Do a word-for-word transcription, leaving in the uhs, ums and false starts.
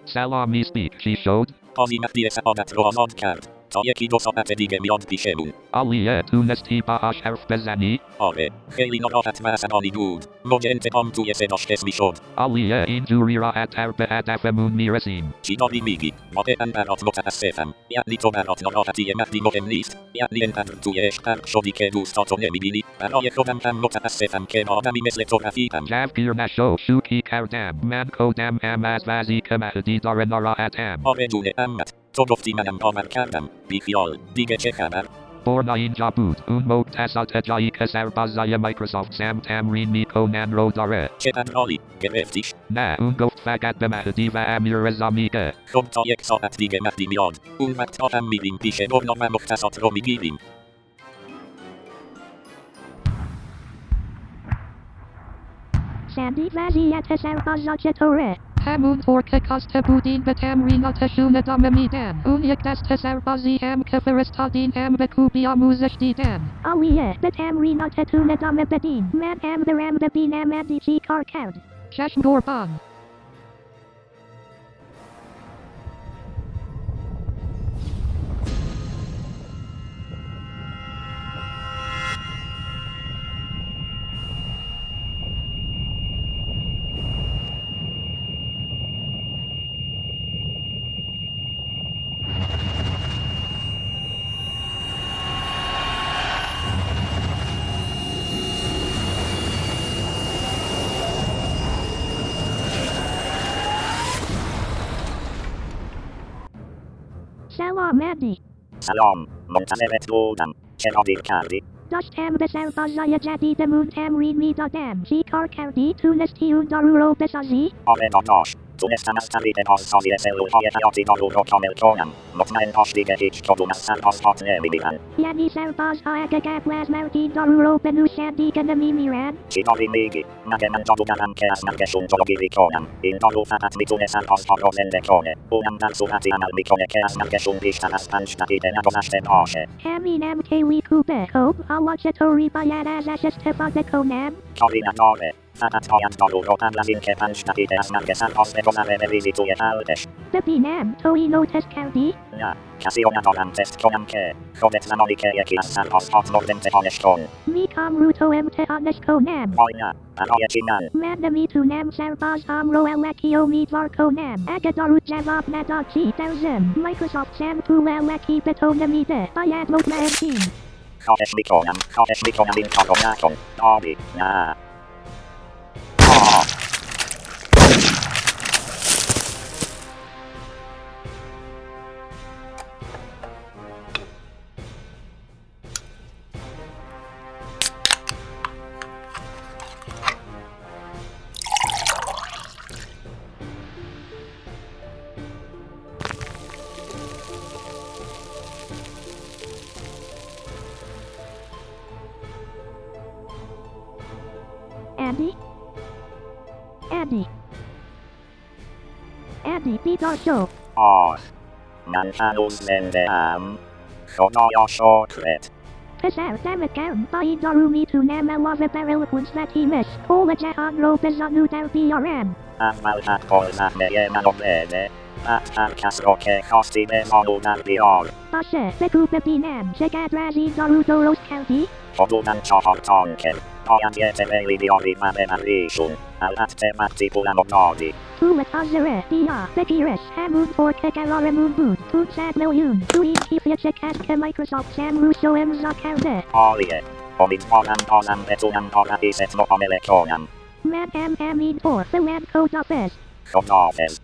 Salami speak, she showed. آزینت سعادت رو آزاد کرد. تا یکی دو ساعت دیگه میاد پیشمون. علیه تونستی باهاش حرف بزنی؟ آره، خیلی ناراحت و عصبانی بود. موج انتقام توی صداش حس میشد. علیه اینجوری راحت‌تر به هدفمون میرسیم. چی داری میگی؟ واقعا برات متاسفم. یعنی تو برات ناراحتی مهدی مهم نیست؟ یعنی انقدر توی عشق غرق شدی که دوستاتو نمیبینی؟ برای خودم هم متاسفم که با آدمی مثل تو رفیقم. جوگیر نشو، شوخی کردم. من خودم هم از وضعی که مهدی داره ناراحتم. آره جونه امت، تو گفتی منم باور کردم. بیخیال، دیگه چه خبر؟ برنا اینجا بود. اون متصلات جایی که سربازای مایکروسافت سم تمرین میکنن رو داره. چقدر عالی، گرفتیش؟ نه، اون گفت فقط به مهدی و امیر رضا میگه. خب تا یک ساعت دیگه مهدی میاد. اون وقت هم میریم پیش برنا و مختصات رو میگیریم. سندی وضعیت سربازا چطوره؟ همون طور که کاسته بودین به تمریناتشون ادامه میدن. اون یک دست سربازی هم که فرستادین هم به خوبی آموزش دیدن. عالیه، به تمریناتتون ادامه بدین. من هم برم ببینم مهدی چی کار کرد. چشم قربان. سلام مهدی. سلام، منتظرت بودم. چرا دیر کردی؟ داشتم به سربازای جدیدمون تمرین میدادم. چی کار کردی؟ تونستی اون دارو رو بسازی؟ آره داداش، تونستم از طریق بازسازی سلولهای حیاتی دارو رو کامل کنم. مطمئن باش دیگه هیچ کدوم از سربازهات نمیمیرن. یعنی سربازها اگه قبل از مرگی دارو رو بنوشن دیگه نمیمیرن؟ چی داری میگی؟ مگه من جادوگرم که از مرگشون جلوگیری کنم. این دارو فقط میتونه سربازها رو زنده کنه. اونم در صورتی عمل میکنه که از مرگشون بیشتر از پنج دقیقه نگذشته باشه. همینم خیلی خوبه. خب حالا چطوری باید ازش استفاده کنم؟ کاری نداره. فقط باید دارو رو قبل از اینکه پنج دقیقه از مرگ سرباز بگذره بریزی توی حلقش. ببینم تو اینو تست کردی؟ نه، کسی رو ندارم تست کنم که. خودت زمانی که یکی از سربازهات مرد امتحانش کن. میخوام رو تو امتحانش کنم. وای نه، برای چی من؟ من نمیتونم سربازهام رو الکی امیدوار کنم. اگه دارو جواب نداد چی در ضمن مایکروسافت سم پول الکی به تو نمیده. باید مطمئن شی. خواهش میکنم، خواهش میکنم این کارو نکن. داری، نه. آه. Andy? Andy? Andy بیدار شو. آه، من هنوز زنده ام. خدایا شکرت. پسر دمت گرم. با این دارو میتونم علاوه بر الکونس و تیمش کل جهان رو به زانو در بیارم. اول حد کل زهمه منو بده. بعد هر کس رو که خواستی به زانو در بیار. باشه بگو ببینم چقدر از این دارو درست کردی؟ حدوداً چهار تانکر. باید یه تبیلی بیاری و ببریشون. البته وقتی پولمو دادی. پول حاضره بیا بگیرش. همون طور که قرارمون بود. پونصد میلیون. تو این کیفیه شکست که مایکروسافت سم روش رو امضا کرده. عالیه. امیدوارم بازم بتونم با رئیست معامله کنم. من هم همینطور. فعلا خداحافظ. خداحافظ.